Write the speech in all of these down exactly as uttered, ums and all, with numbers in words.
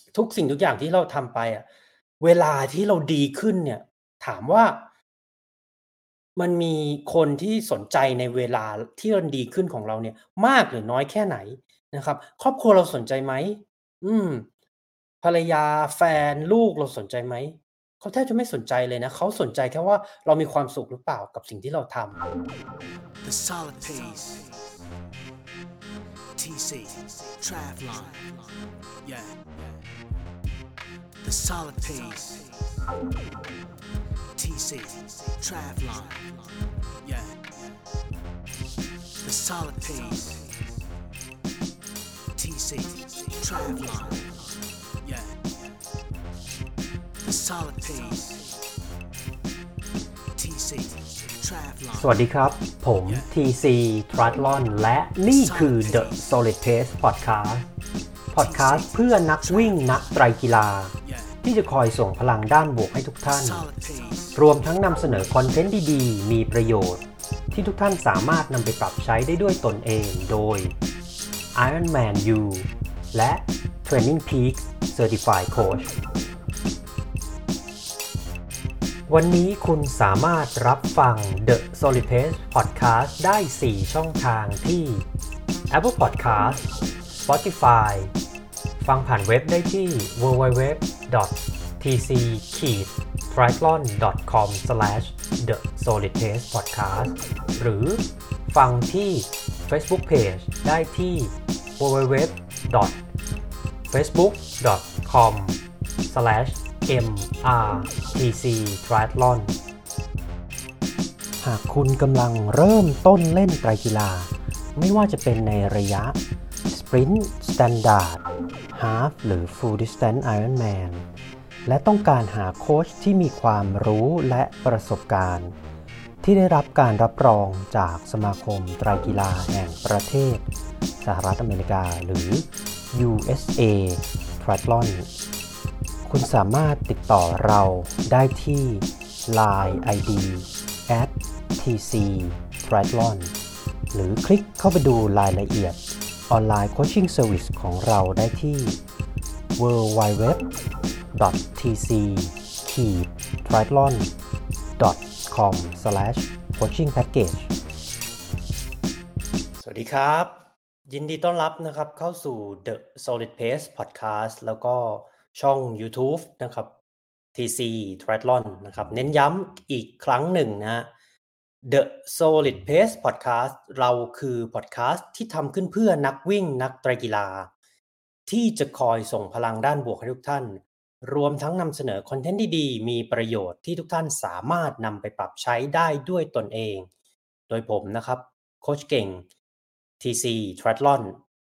ทุกสิ่งทุกอย่างที่เราทำไปอะเวลาที่เราดีขึ้นเนี่ยถามว่ามันมีคนที่สนใจในเวลาที่มันดีขึ้นของเราเนี่ยมากหรือน้อยแค่ไหนนะครับครอบครัวเราสนใจไหมอืมภรรยาแฟนลูกเราสนใจไหมเขาแทบจะไม่สนใจเลยนะเขาสนใจแค่ว่าเรามีความสุขหรือเปล่ากับสิ่งที่เราทำ The solid pace, T C, Travlon, yeah. The solid pace, T C, Travlon, yeah. The solid pace, T C, Travlon, yeah. The solid pace, T C, Travlon. สวัสดีครับ ผม ที ซี Triathlon และนี่คือ The Solid Pace Podcast Podcast เพื่อนักวิ่งนักไตรกีฬาที่จะคอยส่งพลังด้านบวกให้ทุกท่านรวมทั้งนำเสนอคอนเทนต์ดีๆมีประโยชน์ที่ทุกท่านสามารถนำไปปรับใช้ได้ด้วยตนเองโดย Ironman U และ Training Peaks Certified Coachวันนี้คุณสามารถรับฟัง The Solid Pace Podcast ได้ สี่ ช่องทางที่ Apple Podcast Spotify ฟังผ่านเว็บได้ที่ ดับเบิลยู ดับเบิลยู ดับเบิลยู ดอท ที ซี ไทรแอธลอน ดอท คอม สแลช เดอะ โซลิด เพซ พอดแคสต์ หรือฟังที่ Facebook Page ได้ที่ ดับเบิลยู ดับเบิลยู ดับเบิลยู ดอท เฟซบุ๊ก ดอท คอม สแลช เอ็ม อาร์ ที ซี Triathlon หากคุณกำลังเริ่มต้นเล่นไตรกีฬาไม่ว่าจะเป็นในระยะ Sprint Standard Half หรือ Full Distance Ironman และต้องการหาโค้ชที่มีความรู้และประสบการณ์ที่ได้รับการรับรองจากสมาคมไตรกีฬาแห่งประเทศสหรัฐอเมริกาหรือ ยู เอส เอ Triathlon คุณสามารถติดต่อเราได้ที่ ไลน์ ไอ ดี แอท ที ซี Triathlon หรือคลิกเข้าไปดูรายละเอียดออนไลน์โคชชิ่งเซอร์วิสของเราได้ที่ ดับเบิลยู ดับเบิลยู ดับเบิลยู ดอท ที ซี ไทรแอธลอน ดอท คอม สแลช โคชชิ่งแพ็คเกจสวัสดีครับยินดีต้อนรับนะครับเข้าสู่ The Solid Pace Podcast แล้วก็ช่อง YouTube นะครับ ที ซี Triathlon นะครับเน้นย้ำอีกครั้งหนึ่งนะ The Solid Pace Podcast เราคือ podcast ที่ทำขึ้นเพื่อนักวิ่งนักไตรกีฬาที่จะคอยส่งพลังด้านบวกให้ทุกท่านรวมทั้งนำเสนอคอนเทนต์ดีๆมีประโยชน์ที่ทุกท่านสามารถนำไปปรับใช้ได้ด้วยตนเองโดยผมนะครับโค้ชเก่ง ที ซี Triathlon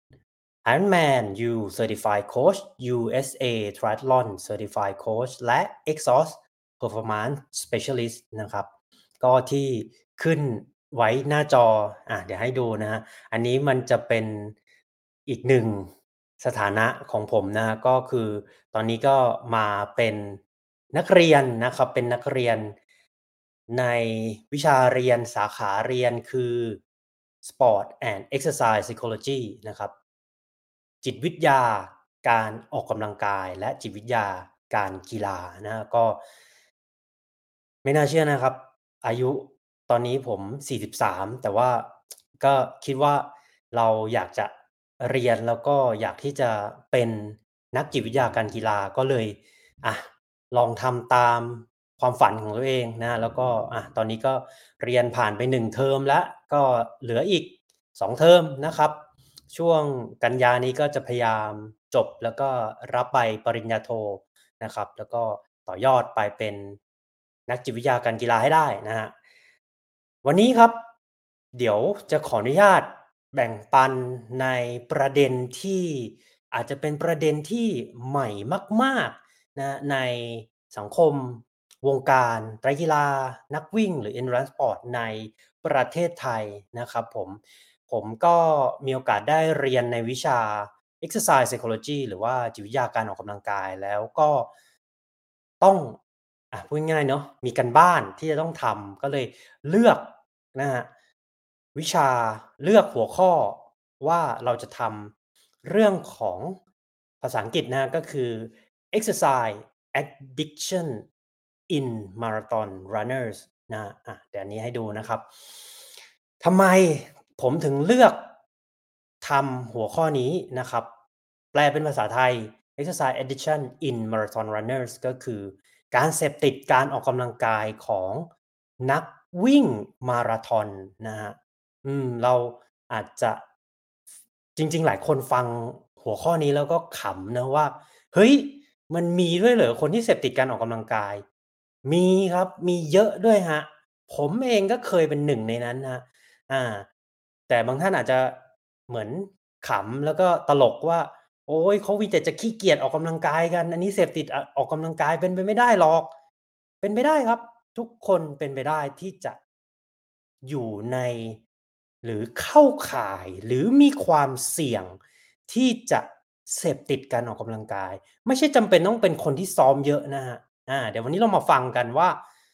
Ironman U Certified Coach ยู เอส เอ Triathlon Certified Coach และ Exhaust Performance Specialist นะครับก็ที่ขึ้นไว้หน้าจออ่ะเดี๋ยวให้ดูนะฮะอันนี้มันจะเป็นอีกหนึ่งสถานะของผมนะก็คือตอนนี้ก็มาเป็นนักเรียนนะครับเป็นนักเรียนในวิชาเรียนสาขาเรียนคือ Sport and Exercise Psychology นะครับจิตวิทยาการออกกำลังกายและจิตวิทยาการกีฬานะก็ไม่น่าเชื่อนะครับอายุตอนนี้ผมสี่สิบสามแต่ว่าก็คิดว่าเราอยากจะเรียนแล้วก็อยากที่จะเป็นนักจิตวิทยาการกีฬาก็เลยอ่ะลองทำตามความฝันของตัวเองนะแล้วก็อ่ะตอนนี้ก็เรียนผ่านไปหนึ่งเทอมแล้วก็เหลืออีกสองเทอมนะครับช่วงกันยานี้ก็จะพยายามจบแล้วก็รับใบปริญญาโทนะครับแล้วก็ต่อยอดไปเป็นนักจิตวิทยาการกีฬาให้ได้นะฮะวันนี้ครับเดี๋ยวจะขออนุญาตแบ่งปันในประเด็นที่อาจจะเป็นประเด็นที่ใหม่มากๆนะในสังคมวงการไตรกีฬานักวิ่งหรือ Endurance Sport ในประเทศไทยนะครับผมผมก็มีโอกาสได้เรียนในวิชา Exercise Psychology หรือว่าจิตวิทยาการออกกำลังกายแล้วก็ต้องอ่ะพูดง่ายๆเนาะมีการบ้านที่จะต้องทำก็เลยเลือกนะฮะวิชาเลือกหัวข้อว่าเราจะทำเรื่องของภภาษาอังกฤษนะก็คือ exercise addiction in marathon runners นะอ่ะเดี๋ยวนี้ให้ดูนะครับทำไมผมถึงเลือกทำหัวข้อนี้นะครับแปลเป็นภาษาไทย exercise addiction in marathon runners ก็คือการเสพติดการออกกำลังกายของนักวิ่งมาราธอนนะฮะอืมเราอาจจะจริงๆหลายคนฟังหัวข้อนี้แล้วก็ขำนะว่าเฮ้ยมันมีด้วยเหรอคนที่เสพติดการออกกำลังกายมีครับมีเยอะด้วยครับผมเองก็เคยเป็นหนึ่งในนั้นครับอาแต่บางท่านอาจจะเหมือนขำแล้วก็ตลกว่าโอ๊ยเขามีแต่จะขี้เกียจออกกำลังกายกันอันนี้เสพติดอออกกำลังกายเป็นไปไม่ได้หรอกเป็นไปได้ครับทุกคนเป็นไปได้ที่จะอยู่ในหรือเข้าข่ายหรือมีความเสี่ยงที่จะเสพติดการออกกำลังกายไม่ใช่จำเป็นต้องเป็นคนที่ซ้อมเยอะนะครับอาเดี๋ยววันนี้เรามาฟังกันว่า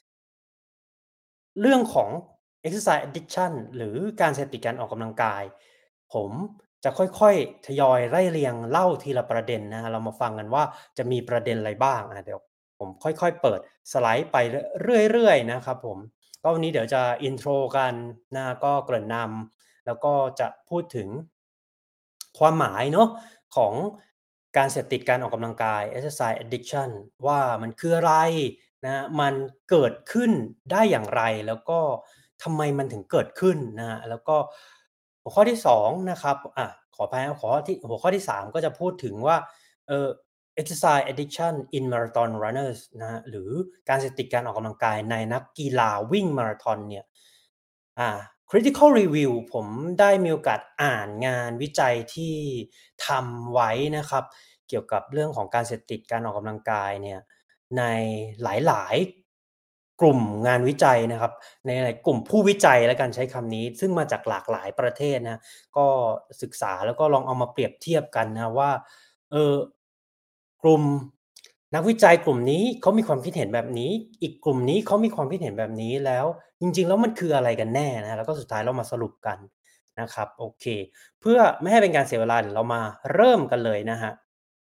เรื่องของ exercise addiction หรือการเสพติดการออกกำลังกายผมจะค่อยๆทยอยไล่เรียงเล่าทีละประเด็นนะครับเรามาฟังกันว่าจะมีประเด็นอะไรบ้างอาเดี๋ยวผมค่อยๆเปิดสไลด์ไปรเรื่อยๆนะครับผมก็วันนี้เดี๋ยวจะ intro กันนะก็เกริ่นนำแล้วก็จะพูดถึงความหมายเนาะของการเสพติดการออกกำลังกาย exercise addiction ว่ามันคืออะไรนะมันเกิดขึ้นได้อย่างไรแล้วก็ทำไมมันถึงเกิดขึ้นนะแล้วก็หัวข้อที่สองนะครับอ่ะขออภัยครับขอที่หัวข้อที่สามก็จะพูดถึงว่าเอ่อ exercise addiction in marathon runners นะหรือการเสพติดการออกกำลังกายในนักกีฬาวิ่งมาราธอนเนี่ยอ่า critical review ผมได้มีโอกาสอ่านงานวิจัยที่ทำไว้นะครับเกี่ยวกับเรื่องของการเสพติดการออกกำลังกายเนี่ยในหลายๆกลุ่มงานวิจัยนะครับในหลายกลุ่มผู้วิจัยแล้วกันใช้คำนี้ซึ่งมาจากหลากหลายประเทศนะก็ศึกษาแล้วก็ลองเอามาเปรียบเทียบกันนะว่าเออกลุ่มนักวิจัยกลุ่มนี้เขามีความคิดเห็นแบบนี้อีกกลุ่มนี้เขามีความคิดเห็นแบบนี้แล้วจริงๆแล้วมันคืออะไรกันแน่นะแล้วก็สุดท้ายเรามาสรุปกันนะครับโอเคเพื่อไม่ให้เป็นการเสียเวลาเดี๋ยวเรามาเริ่มกันเลยนะครับ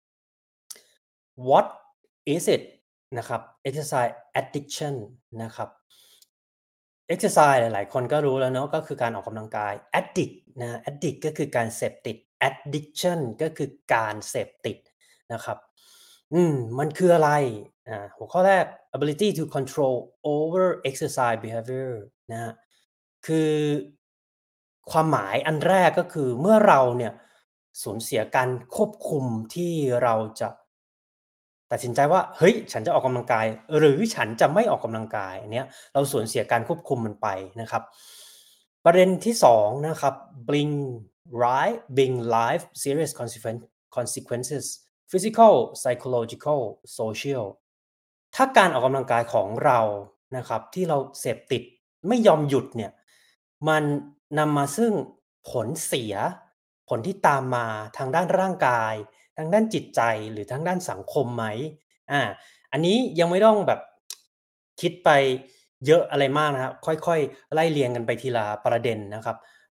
What is it นะครับ exercise addiction นะครับ exercise หลายๆคนก็รู้แล้วเนาะก็คือการออกกำลังกาย addict นะ addict ก็คือการเสพติด addiction ก็คือการเสพติดนะครับอืมมันคืออะไรอ่าหัวข้อแรก ability to control over exercise behavior นะครับคือความหมายอันแรกก็คือเมื่อเราเนี่ยสูญเสียการควบคุมที่เราจะตัดสินใจว่าเฮ้ยฉันจะออกกำลังกายหรือฉันจะไม่ออกกำลังกายอันเนี้ยเราสูญเสียการควบคุมมันไปนะครับประเด็นที่สองนะครับ bring life bring life serious consequence consequences physical psychological social ถ้าการออกกำลังกายของเรานะครับที่เราเสพติดไม่ยอมหยุดเนี่ยมันนำมาซึ่งผลเสียผลที่ตามมาทางด้านร่างกายทางด้านจิตใจหรือทางด้านสังคมไหมอาอันนี้ยังไม่ต้องแบบคิดไปเยอะอะไรมากนะครับค่อยๆไล่เรียงกันไปทีละประเด็นนะครับ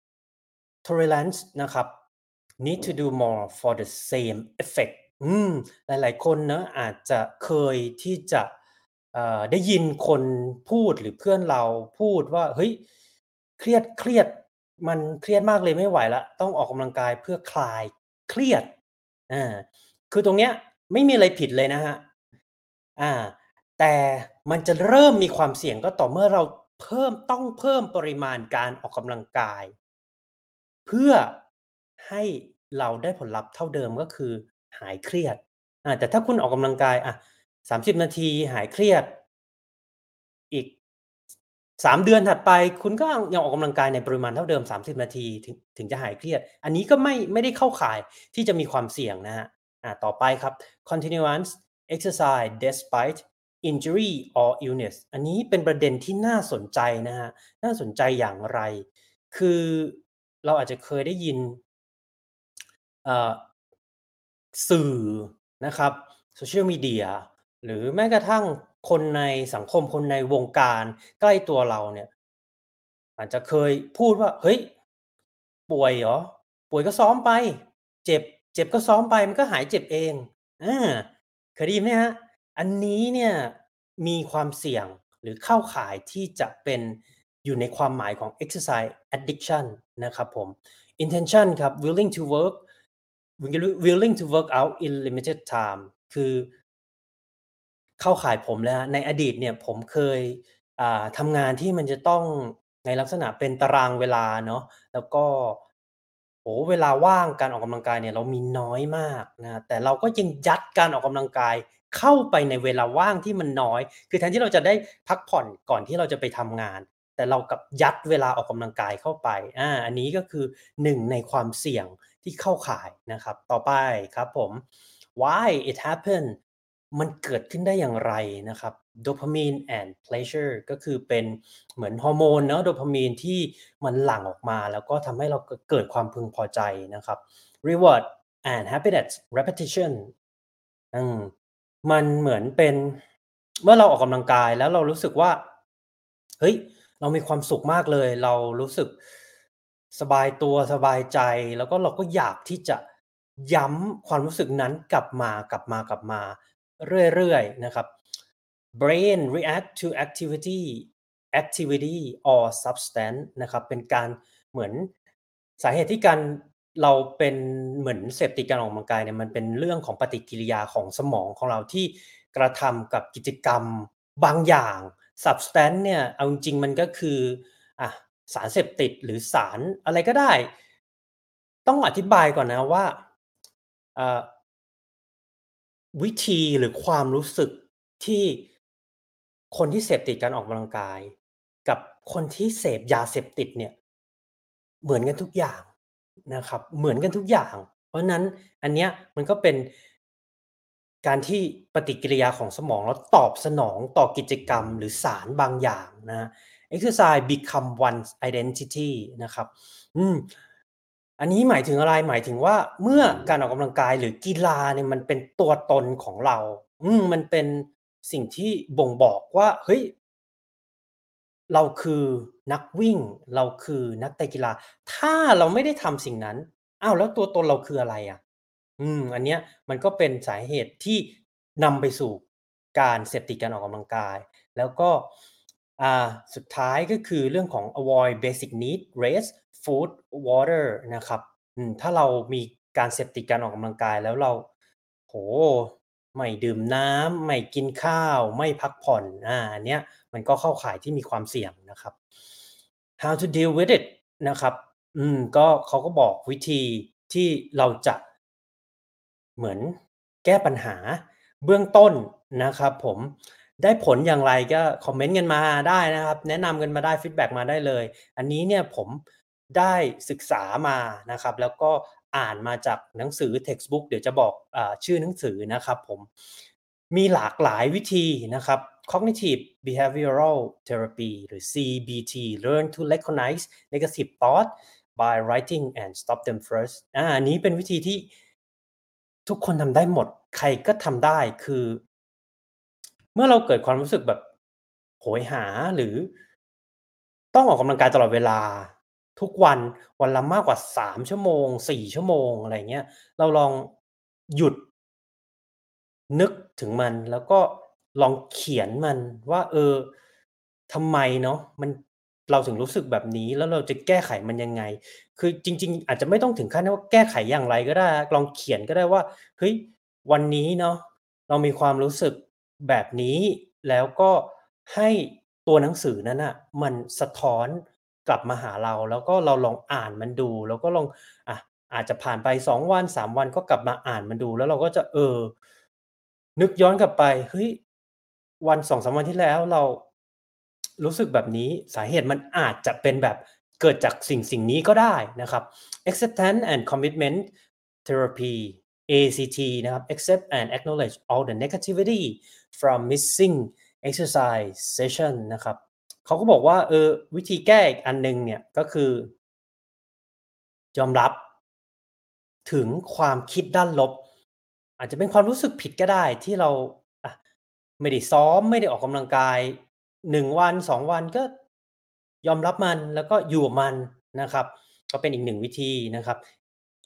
tolerance นะครับ need to do more for the same effect อืมหลายๆคนเนาะอาจจะเคยที่จะเอ่อได้ยินคนพูดหรือเพื่อนเราพูดว่าเฮ้ยเครียดเครียดมันเครียดมากเลยไม่ไหวแล้วต้องออกกำลังกายเพื่อคลายเครียดอาคือตรงเนี้ยไม่มีอะไรผิดเลยนะครับอาแต่มันจะเริ่มมีความเสี่ยงก็ต่อเมื่อเราเพิ่มต้องเพิ่มปริมาณการออกกำลังกาย เพื่อให้เราได้ผลลัพธ์เท่าเดิมก็คือหายเครียดอาแต่ถ้าคุณออกกำลังกายอะสามสิบนาทีหายเครียดอีกสามเดือนถัดไปคุณก็ยังออกกำลังกายในปริมาณเท่าเดิมสามสิบนาทีถึงถึงจะหายเครียดอันนี้ก็ไม่ไม่ได้เข้าข่ายที่จะมีความเสี่ยงนะครับอาต่อไปครับ continuous exercise despite injury or illness อันนี้เป็นประเด็นที่น่าสนใจนะครับน่าสนใจอย่างไร คือเราอาจจะเคยได้ยินเอ่อสื่อนะครับ Social Media หรือแม้กระทั่งคนในสังคมคนในวงการใกล้ตัวเราเนี่ยอาจจะเคยพูดว่าเฮ้ยป่วยเหรอป่วยก็ซ้อมไปเจ็บเจ็บก็ซ้อมไปมันก็หายเจ็บเองอาเคยได้ยินไหมครับอันนี้เนี่ยมีความเสี่ยงหรือเข้าข่ายที่จะเป็นอยู่ในความหมายของ exercise addiction นะครับผม intention ครับ willing to work willing to work out in limited time คือเข้าข่ายผมเลยครับในอดีตเนี่ยผมเคยอ่าทำงานที่มันจะต้องในลักษณะเป็นตารางเวลาเนาะแล้วก็โอ้โฮเวลาว่างการออกกำลังกายเนี่ยเรามีน้อยมากนะครับแต่เราก็ยังยัดการออกกำลังกายเข้าไปในเวลาว่างที่มันน้อยคือแทนที่เราจะได้พักผ่อนก่อนที่เราจะไปทำงานแต่เรากลับยัดเวลาออกกำลังกายเข้าไปอาอันนี้ก็คือหนึ่งในความเสี่ยงที่เข้าข่ายนะครับต่อไปครับผม why it happened มันเกิดขึ้นได้อย่างไรนะครับ dopamine and pleasure ก็คือเป็นเหมือนฮอร์โมนเนาะโดพามีนที่มันหลั่งออกมาแล้วก็ทำให้เราเกิดเกิดความพึงพอใจนะครับ reward and happiness repetition อืมมันเหมือนเป็นเมื่อเราออกกำลังกายแล้วเรารู้สึกว่าเฮ้ยเรามีความสุขมากเลยเรารู้สึกสบายตัวสบายใจแล้วก็เราก็อยากที่จะย้ำความรู้สึกนั้นกลับมากลับมากลับมาเรื่อยๆนะครับ brain react to activity activity or substance นะครับเป็นการเหมือนสาเหตุที่การเราเป็นเหมือนเสพติดการออกกำลังกายเนี่ยมันเป็นเรื่องของปฏิกิริยาของสมองของเราที่กระทำกับกิจกรรมบางอย่าง substance เนี่ยเอาจริงๆมันก็คืออะสารเสพติดหรือสารอะไรก็ได้ต้องอธิบายก่อนนะว่าเอ่อ วิธีหรือความรู้สึกที่คนที่เสพติดการออกกำลังกายกับคนที่เสพยาเสพติดเนี่ยเหมือนกันทุกอย่างนะครับเหมือนกันทุกอย่างเพราะฉะนั้นอันเนี้ยมันก็เป็นการที่ปฏิกิริยาของสมองแล้วตอบสนองต่อกิจกรรมหรือสารบางอย่างนะครับ Exercise become one's identity นะครับอืม อันนี้หมายถึงอะไรหมายถึงว่าเมื่อการออกกำลังกายหรือกีฬาเนี่ยมันเป็นตัวตนของเราอืมมันเป็นสิ่งที่บ่งบอกว่าเฮ้ยเราคือนักวิ่งเราคือนักเตะกีฬาถ้าเราไม่ได้ทำสิ่งนั้นอ้าวแล้วตัวตนเราคืออะไรอะอืมอันเนี้ยมันก็เป็นสาเหตุที่นำไปสู่การเสพติดการออกกำลังกายแล้วก็อ่าสุดท้ายก็คือเรื่องของ avoid basic need rest food water นะครับอืมถ้าเรามีการเสพติดการออกกำลังกายแล้วเราโอ้โฮไม่ดื่มน้ำไม่กินข้าวไม่พักผ่อนอาอันเนี้ยมันก็เข้าข่ายที่มีความเสี่ยงนะครับ how to deal with it นะครับอืมก็เขาก็บอกวิธีที่เราจะเหมือนแก้ปัญหาเบื้องต้นนะครับผมได้ผลอย่างไรก็คอมเมนต์กันมาได้นะครับแนะนำกันมาได้ฟีดแบ็กมาได้เลยอันนี้เนี่ยผมได้ศึกษามานะครับแล้วก็อ่านมาจากหนังสือ textbook เดี๋ยวจะบอกอาชื่อหนังสือนะครับผมมีหลากหลายวิธีนะครับ cognitive behavioral therapy หรือ ซี บี ที learn to recognize negative thought by writing and stop them first อาอันนี้เป็นวิธีที่ทุกคนทำได้หมดใครก็ทำได้คือเมื่อเราเกิดความรู้สึกแบบโหยหาหรือต้องออกกำลังกายตลอดเวลาทุกวันวันละมากกว่าสามชั่วโมงสี่ชั่วโมงอะไรอย่างเงี้ยเราลองหยุด นึกถึงมันแล้วก็ลองเขียนมันว่าเออทำไมเนาะมันเราถึงรู้สึกแบบนี้แล้วเราจะแก้ไขมันยังไงคือจริงๆอาจจะไม่ต้องถึงขั้นว่าแก้ไขอย่างไรก็ได้ลองเขียนก็ได้ว่าเฮ้ยวันนี้เนาะเรามีความรู้สึกแบบนี้แล้วก็ให้ตัวหนังสือนั้นน่ะมันสะท้อนกลับมาหาเราแล้วก็เราลองอ่านมันดูแล้วก็ลองอะอาจจะผ่านไปสองวันสามวันก็กลับมาอ่านมันดูแล้วเราก็จะเออ นึกย้อนกลับไปเฮ้ยวันสองถึงสามวันที่แล้วเรารู้สึกแบบนี้สาเหตุมันอาจจะเป็นแบบเกิดจากสิ่งสิ่งนี้ก็ได้นะครับ Acceptance and Commitment Therapy เอ ซี ที นะครับ Accept and Acknowledge all the negativity from missing exercise session นะครับเขาก็บอกว่าเออวิธีแก้อีกอันหนึ่งเนี่ยก็คือยอมรับถึงความคิดด้านลบอาจจะเป็นความรู้สึกผิดก็ได้ที่เราอะไม่ได้ซ้อมไม่ได้ออกกำลังกายหนึ่งวันสองวันก็ยอมรับมันแล้วก็อยู่กับมันนะครับก็เป็นอีกหนึ่งวิธีนะครับ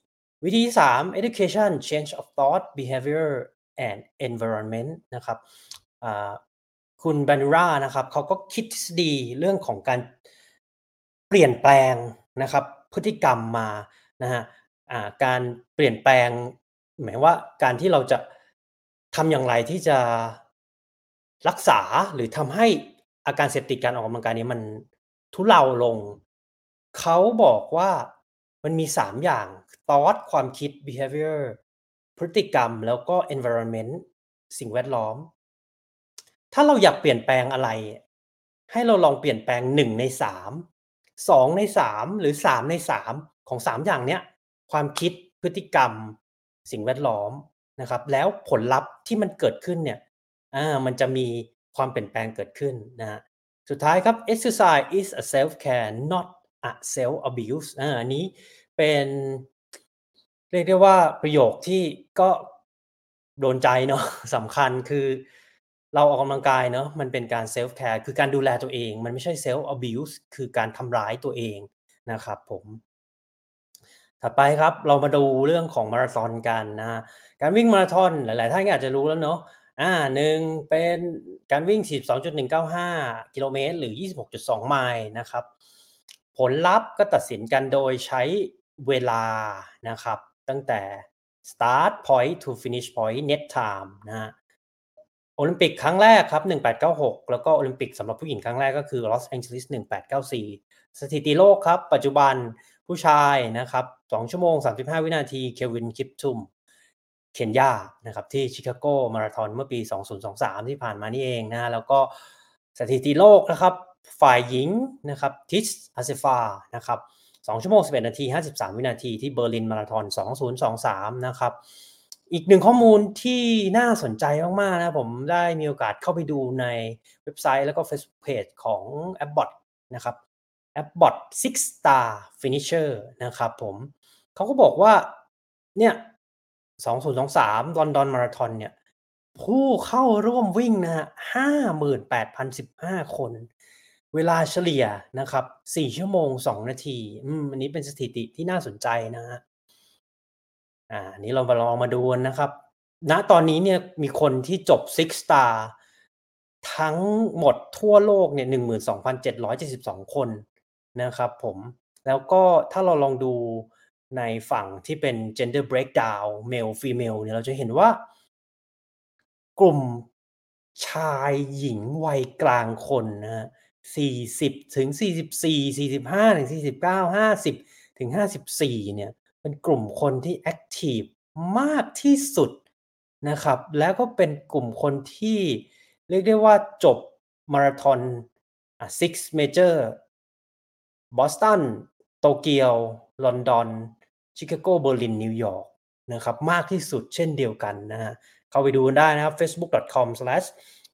วิธีที่สาม education change of thought behavior and environment นะครับอ่าคุณบานูรานะครับเขาก็คิดทฤษฎีเรื่องของการเปลี่ยนแปลงนะครับพฤติกรรมมานะฮะอ่าการเปลี่ยนแปลงหมายว่าการที่เราจะทำอย่างไรที่จะรักษาหรือทำให้อาการเสพติดการออกกำลังกายนี้มันทุเลาลงเขาบอกว่ามันมีสามอย่าง thought ความคิด behavior พฤติกรรมแล้วก็ environment สิ่งแวดล้อมถ้าเราอยากเปลี่ยนแปลงอะไรให้เราลองเปลี่ยนแปลงหนึ่งในสาม สองในสามหรือสามในสามของสามอย่างเนี้ยความคิดพฤติกรรมสิ่งแวดล้อมนะครับแล้วผลลัพธ์ที่มันเกิดขึ้นเนี่ยอามันจะมีความเปลี่ยนแปลงเกิดขึ้นนะครับสุดท้ายครับ exercise is a self care not a self abuse อาอันนี้เป็นเรียกได้ว่าประโยคที่ก็โดนใจเนาะ สำคัญคือเราออกกำลังกายเนาะมันเป็นการ self care คือการดูแลตัวเองมันไม่ใช่ self abuse คือการทำร้ายตัวเองนะครับผมถัดไปครับเรามาดูเรื่องของมาราธอนกันนะการวิ่งมาราธอนหลายๆท่านก็อาจจะรู้แล้วเนาะอาหนึ่งเป็นการวิ่ง สี่สิบสองจุดหนึ่งเก้าห้า กิโลเมตรหรือ ยี่สิบหกจุดสอง ไมล์นะครับผลลัพธ์ก็ตัดสินกันโดยใช้เวลานะครับตั้งแต่ start point to finish point net time นะฮะโอลิมปิกครั้งแรกครับหนึ่งพันแปดร้อยเก้าสิบหกแล้วก็โอลิมปิกสำหรับผู้หญิงครั้งแรกก็คือลอสแองเจลิสหนึ่งพันแปดร้อยเก้าสิบสี่สถิติโลกครับปัจจุบันผู้ชายนะครับสองชั่วโมงสามสิบห้าวินาทีเควินคิปทุมเคนยานะครับที่ชิคาโกมาราธอนเมื่อปีสองพันยี่สิบสามที่ผ่านมานี่เองนะแล้วก็สถิติโลกนะครับฝ่ายหญิงนะครับทิชอาเซฟานะครับสองชั่วโมงสิบเอ็ดนาทีห้าสิบสามวินาทีที่เบอร์ลินมาราธอนสองพันยี่สิบสามนะครับอีกหนึ่งข้อมูลที่น่าสนใจมากๆนะผมได้มีโอกาสเข้าไปดูในเว็บไซต์แล้วก็ Facebook Page ของ Abbott นะครับ Abbott Six Star Finisher นะครับผมเขาก็บอกว่าเนี่ยสองพันยี่สิบสามลอนดอนมาราธอนเนี่ยผู้เข้าร่วมวิ่งนะฮะ ห้าหมื่นแปดพันสิบห้า คนเวลาเฉลี่ยนะครับสี่ชั่วโมงสองนาทีอืมอันนี้เป็นสถิติที่น่าสนใจนะครับอ่าอันนี้เรามาลองมาดูกันนะครับณตอนนี้เนี่ยมีคนที่จบ Six Star ทั้งหมดทั่วโลกเนี่ย หนึ่งหมื่นสองพันเจ็ดร้อยเจ็ดสิบสอง คนนะครับผมแล้วก็ถ้าเราลองดูในฝั่งที่เป็น gender breakdown male female เนี่ยเราจะเห็นว่ากลุ่มชายหญิงวัยกลางคนนะครับสี่สิบถึงสี่สิบสี่ สี่สิบห้าถึงสี่สิบเก้า ห้าสิบถึงห้าสิบสี่เนี่ยเป็นกลุ่มคนที่แอ็กทิฟมากที่สุดนะครับแล้วก็เป็นกลุ่มคนที่เรียกได้ว่าจบมาราธอนอ่า Six Major บอสตันโตเกียวลอนดอนชิคาโกเบอร์ลินนิวยอร์กนะครับมากที่สุดเช่นเดียวกันนะฮะเข้าไปดูกันได้นะครับ facebook dot com slash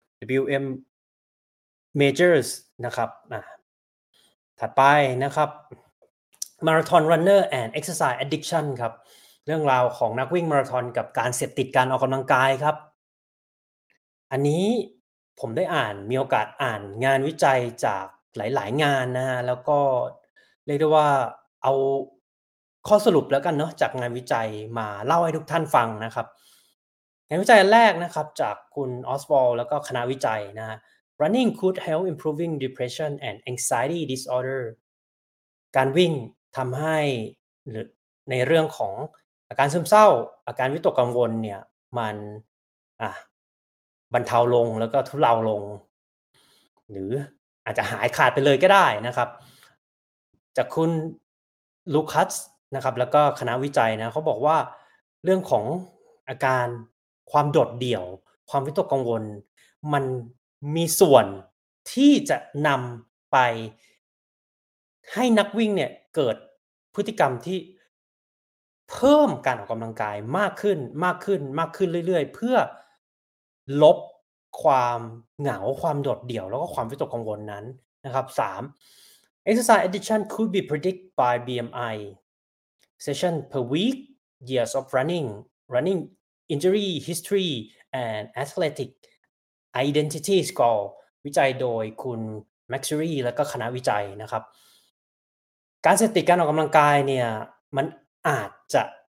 w m majors นะครับอ่าถัดไปนะครับ Marathon Runner and Exercise Addiction ครับเรื่องราวของนักวิ่งมาราธอนกับการเสพติดการออกกำลังกายครับอันนี้ผมได้อ่านมีโอกาสอ่านงานวิจัยจากหลายๆงานนะฮะแล้วก็เรียกได้ว่าเอาข้อสรุปแล้วกันเนาะจากงานวิจัยมาเล่าให้ทุกท่านฟังนะครับงานวิจัยอันแรกนะครับจากคุณออสวอลแล้วก็คณะวิจัยนะฮะ Running could help improving depression and anxiety disorder การวิ่งทำให้หรือในเรื่องของอาการซึมเศร้าอาการวิตกกังวลเนี่ยมันอ่ะบรรเทาลงแล้วก็ทุเลาลงหรืออาจจะหายขาดไปเลยก็ได้นะครับจากคุณลูคัสนะครับแล้วก็คณะวิจัยนะเขาบอกว่าเรื่องของอาการความโดดเดี่ยวความวิตกกังวลมันมีส่วนที่จะนำไปให้นักวิ่งเนี่ยเกิดพฤติกรรมที่เพิ่มการออกกำลังกายมากขึ้นมากขึ้นมากขึ้นเรื่อยๆเพื่อลบความเหงาความโดดเดี่ยวแล้วก็ความวิตกกังวลนั้นนะครับสาม Exercise addiction could be predicted by บี เอ็ม ไอ session per week years of running running injury history and athletic identity score วิจัยโดยคุณ Maxury และก็คณะวิจัยนะครับการเสพติดการออกกำลังกายเนี่ยมันอาจจะ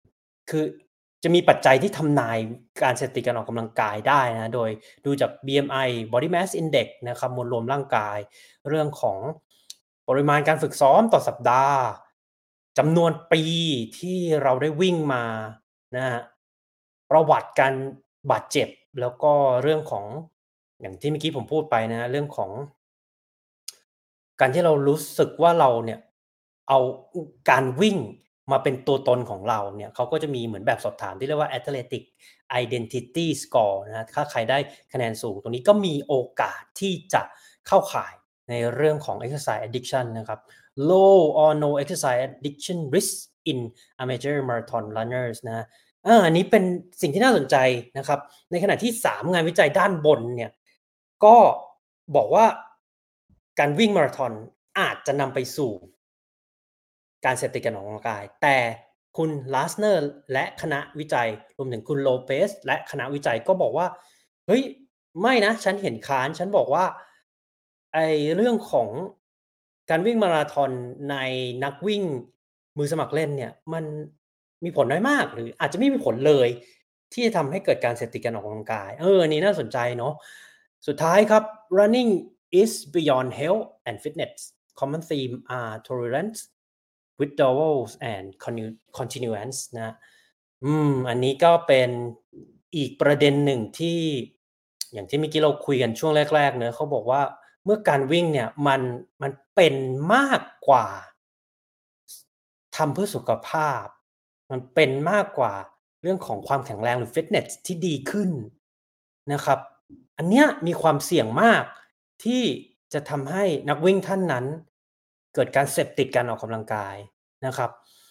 คือจะมีปัจจัยที่ทำนายการเสพติดการออกกำลังกายได้นะโดยดูจาก บี เอ็ม ไอ Body Mass Index นะครับมวลรวมร่างกายเรื่องของปริมาณการฝึกซ้อมต่อสัปดาห์จำนวนปีที่เราได้วิ่งมานะครับประวัติการบาดเจ็บแล้วก็เรื่องของอย่างที่เมื่อกี้ผมพูดไปนะเรื่องของการที่เรารู้สึกว่าเราเนี่ยเอาการวิ่งมาเป็นตัวตนของเราเนี่ยเขาก็จะมีเหมือนแบบสอบถามที่เรียกว่า Athletic Identity Score นะถ้าใครได้คะแนนสูงตรงนี้ก็มีโอกาสที่จะเข้าข่ายในเรื่องของ Exercise Addiction นะครับ Low or no exercise addiction risk in amateur marathon runners นะอาอันนี้เป็นสิ่งที่น่าสนใจนะครับในขณะที่สามงานวิจัยด้านบนเนี่ยก็บอกว่าการวิ่งมาราธอนอาจจะนำไปสู่การเสพติดการออกกำลังกายแต่คุณ Lassner และคณะวิจัยรวมถึงคุณ Lopez และคณะวิจัยก็บอกว่าเฮ้ยไม่นะฉันเห็นค้านฉันบอกว่าไอ้เรื่องของการวิ่งมาราธอนในนักวิ่งมือสมัครเล่นเนี่ยมันมีผลน้อยมากหรืออาจจะไม่มีผลเลยที่จะทำให้เกิดการเสพติดการออกกำลังกายเอออันนี้น่าสนใจเนาะสุดท้ายครับ running is beyond health and fitness common theme are tolerance withdrawals and connu- continuance นะอืมอันนี้ก็เป็นอีกประเด็นหนึ่งที่อย่างที่เมื่อกี้เราคุยกันช่วงแรกๆเนอะเขาบอกว่าเมื่อการวิ่งเนี่ยมันมันเป็นมากกว่าทำเพื่อสุขภาพมันเป็นมากกว่าเรื่องของความแข็งแรงหรือฟิตเนสที่ดีขึ้นนะครับอันเนี้ยมีความเสี่ยงมากที่จะทำให้นักวิ่งท่านนั้นเกิดการเสพติดการออกกำลังกายนะครับ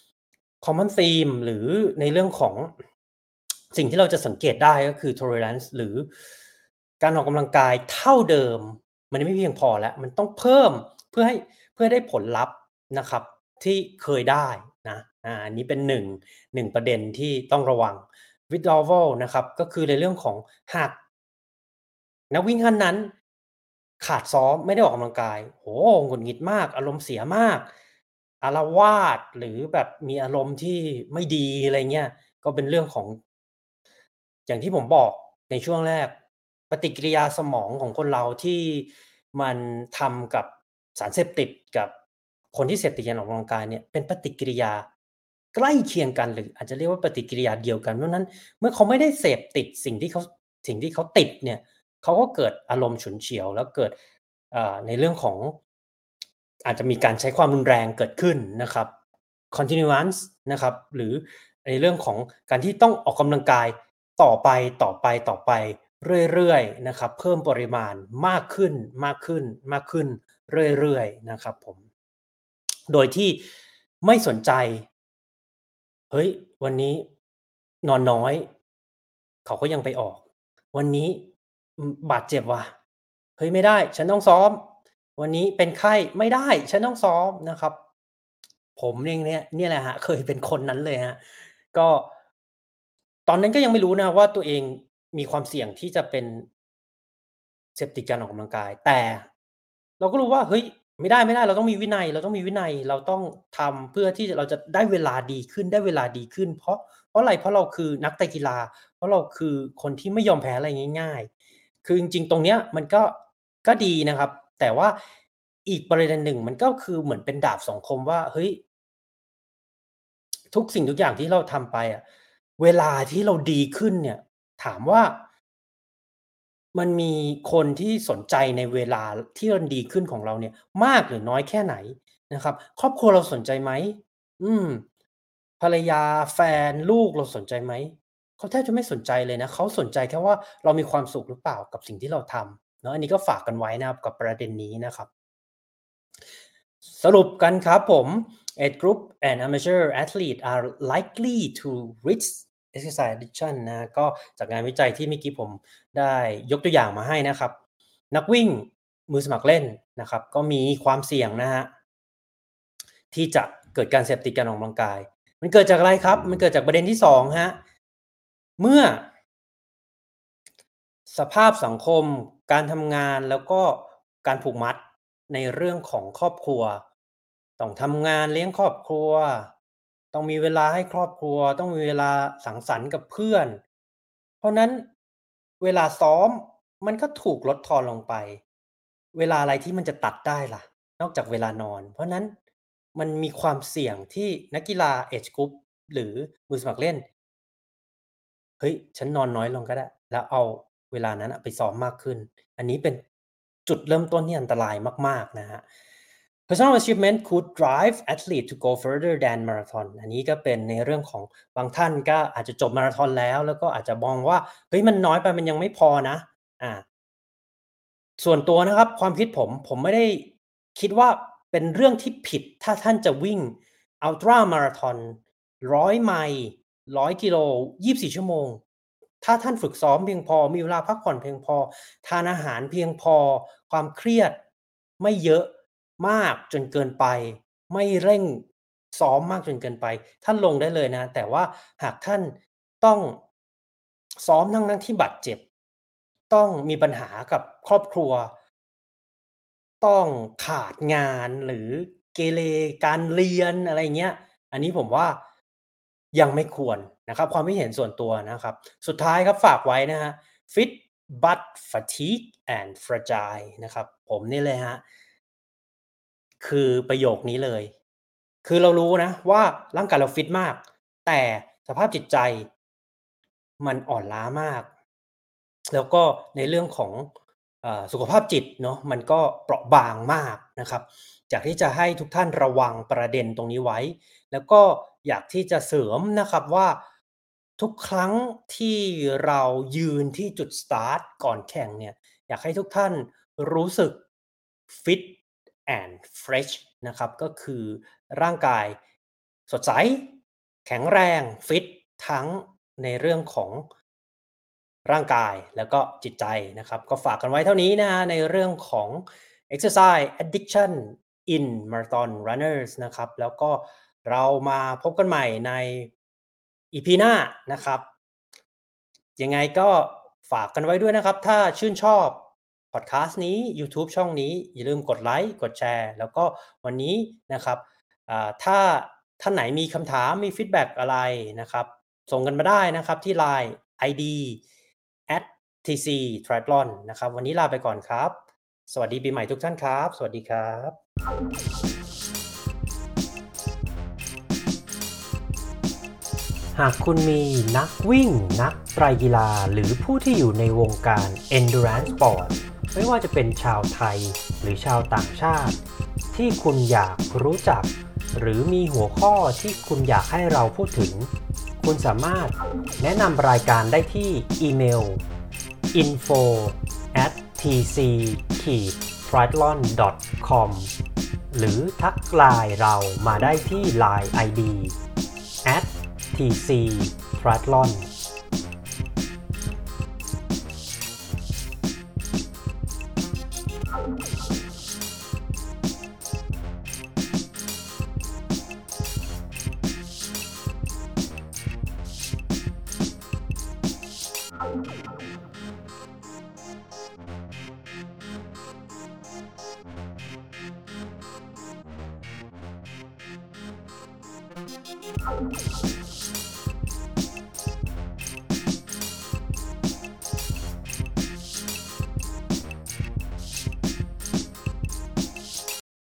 common theme หรือในเรื่องของสิ่งที่เราจะสังเกตได้ก็คือ tolerance หรือการออกกำลังกายเท่าเดิมมันไม่เพียงพอแล้วมันต้องเพิ่มเพื่อให้เพื่อได้ผลลัพธ์นะครับที่เคยได้นะอาอันนี้เป็นหนึ่ง หนึ่งประเด็นที่ต้องระวัง withdrawal นะครับก็คือในเรื่องของหากนักวิ่งท่านนั้นขาดซ้อมไม่ได้ออกกำลังกายโอ้โฮหงุดหงิดมากอารมณ์เสียมากอาละวาดหรือแบบมีอารมณ์ที่ไม่ดีอะไรเงี้ยก็เป็นเรื่องของอย่างที่ผมบอกในช่วงแรกปฏิกิริยาสมองของคนเราที่มันทำกับสารเสพติดกับคนที่เสพติดการออกกำลังกายเนี่ยเป็นปฏิกิริยาใกล้เคียงกันหรืออาจจะเรียกว่าปฏิกิริยาเดียวกันเพราะฉะนั้นเมื่อเขาไม่ได้เสพติดสิ่งที่เขาสิ่งที่เขาติดเนี่ยเขาก็เกิดอารมณ์ฉุนเฉียวแล้วเกิดอ่าในเรื่องของอาจจะมีการใช้ความรุนแรงเกิดขึ้นนะครับ continuance นะครับหรือในเรื่องของการที่ต้องออกกำลังกายต่อไปต่อไปต่อไปเรื่อยๆนะครับเพิ่มปริมาณมากขึ้นมากขึ้นมากขึ้นเรื่อยๆนะครับผมโดยที่ไม่สนใจเฮ้ยวันนี้นอนน้อยเขาก็ยังไปออกวันนี้อืมบาดเจ็บว่ะเฮ้ยไม่ได้ฉันต้องซ้อมวันนี้เป็นไข้ไม่ได้ฉันต้องซ้อมนะครับผมเองเนี่ยเนี่ยแหละครับเคยเป็นคนนั้นเลยครับก็ตอนนั้นก็ยังไม่รู้นะว่าตัวเองมีความเสี่ยงที่จะเป็นเสพติดการออกกำลังกายแต่เราก็รู้ว่าเฮ้ยไม่ได้ๆเราต้องมีวินัยเราต้องมีวินัยเราต้องทำเพื่อที่จะเราจะได้เวลาดีขึ้นได้เวลาดีขึ้นเพราะเพราะอะไรเพราะเราคือนักไตรกีฬาเพราะเราคือคนที่ไม่ยอมแพ้อะไรง่ายๆคือจริงๆตรงเนี้ยมันก็ก็ดีนะครับแต่ว่าอีกประเด็นหนึ่งมันก็คือเหมือนเป็นดาบสองคมว่าเฮ้ย ทุกสิ่งทุกอย่างที่เราทำไปอะเวลาที่เราดีขึ้นเนี่ยถามว่ามันมีคนที่สนใจในเวลาที่มันดีขึ้นของเราเนี่ยมากหรือน้อยแค่ไหนนะครับครอบครัวเราสนใจไหมอืมภรรยาแฟนลูกเราสนใจไหมเขาแทบจะไม่สนใจเลยนะเขาสนใจแค่ว่าเรามีความสุขหรือเปล่ากับสิ่งที่เราทำเนาะอันนี้ก็ฝากกันไว้นะครับกับประเด็นนี้นะครับ สรุปกันครับผม Age group and amateur athlete are likely to risk exercise addiction นะก็จากงานวิจัยที่เมื่อกี้ผมได้ยกตัวอย่างมาให้นะครับนักวิ่งมือสมัครเล่นนะครับก็มีความเสี่ยงนะฮะที่จะเกิดการเสพติดการออกกำลังกายมันเกิดจากอะไรครับมันเกิดจากประเด็นที่สองฮะเมื่อสภาพสังคมการทำงานแล้วก็การผูกมัดในเรื่องของครอบครัวต้องทำงานเลี้ยงครอบครัวต้องมีเวลาให้ครอบครัวต้องมีเวลาสังสรรค์กับเพื่อนเพราะนั้นเวลาซ้อมมันก็ถูกลดทอนลงไปเวลาอะไรที่มันจะตัดได้ล่ะนอกจากเวลานอนเพราะนั้นมันมีความเสี่ยงที่นักกีฬา Age Group หรือมือสมัครเล่นเฮ้ยฉันนอนน้อยลงก็ได้แล้วเอาเวลานั้นไปซ้อมมากขึ้นอันนี้เป็นจุดเริ่มต้นที่อันตรายมากๆนะครับ Personal achievement could drive athlete to go further than marathon อันนี้ก็เป็นในเรื่องของบางท่านก็อาจจะจบมาราธอนแล้วแล้วก็อาจจะมองว่าเฮ้ยมันน้อยไปมันยังไม่พอนะอาส่วนตัวนะครับความคิดผมผมไม่ได้คิดว่าเป็นเรื่องที่ผิดถ้าท่านจะวิ่ง Ultra Marathon หนึ่งร้อยไมล์หนึ่งร้อยกิโลยี่สิบสี่ชั่วโมงถ้าท่านฝึกซ้อมเพียงพอมีเวลาพักผ่อนเพียงพอทานอาหารเพียงพอความเครียดไม่เยอะมากจนเกินไปไม่เร่งซ้อมมากจนเกินไปท่านลงได้เลยนะแต่ว่าหากท่านต้องซ้อมทั้งๆที่บาดเจ็บต้องมีปัญหากับครอบครัวต้องขาดงานหรือเกเรการเรียนอะไรอย่างเงี้ยอันนี้ผมว่ายังไม่ควรนะครับความคิดเห็นส่วนตัวนะครับสุดท้ายครับฝากไว้นะครับ Fit but fatigue and fragile นะครับผมนี่เลยครับคือประโยคนี้เลยคือเรารู้นะว่าร่างกายเราฟิตมากแต่สภาพจิตใจมันอ่อนล้ามากแล้วก็ในเรื่องของเอ่อสุขภาพจิตเนาะมันก็เปราะบางมากนะครับอยากที่จะให้ทุกท่านระวังประเด็นตรงนี้ไว้แล้วก็อยากที่จะเสริมนะครับว่าทุกครั้งที่เรายืนที่จุดสตาร์ตก่อนแข่งเนี่ยอยากให้ทุกท่านรู้สึก fit and fresh นะครับก็คือร่างกายสดใสแข็งแรงฟิตทั้งในเรื่องของร่างกายแล้วก็จิตใจนะครับก็ฝากกันไว้เท่านี้นะฮะในเรื่องของ exercise addiction in marathon runners นะครับแล้วก็เรามาพบกันใหม่ใน อี พี หน้านะครับยังไงก็ฝากกันไว้ด้วยนะครับถ้าชื่นชอบพอดแคสต์นี้ยูทูบช่องนี้อย่าลืมกดไลค์กดแชร์แล้วก็วันนี้นะครับอ่าถ้าท่านไหนมีคำถามมีฟีดแบ็กอะไรนะครับส่งกันมาได้นะครับที่ ไลน์ ไอ ดี แอท ที ซี Triathlon นะครับวันนี้ลาไปก่อนครับสวัสดีปีใหม่ทุกท่านครับสวัสดีครับหากคุณมีนักวิ่งนักไตรกีฬาหรือผู้ที่อยู่ในวงการ Endurance Sport ไม่ว่าจะเป็นชาวไทยหรือชาวต่างชาติที่คุณอยากรู้จักหรือมีหัวข้อที่คุณอยากให้เราพูดถึงคุณสามารถแนะนำรายการได้ที่อีเมล อินโฟ แอท ที ซี ทริแอธลอน ดอท คอม หรือทักไลน์เรามาได้ที่ ไลน์ ไอ ดี แอท ที ซี Triathlon T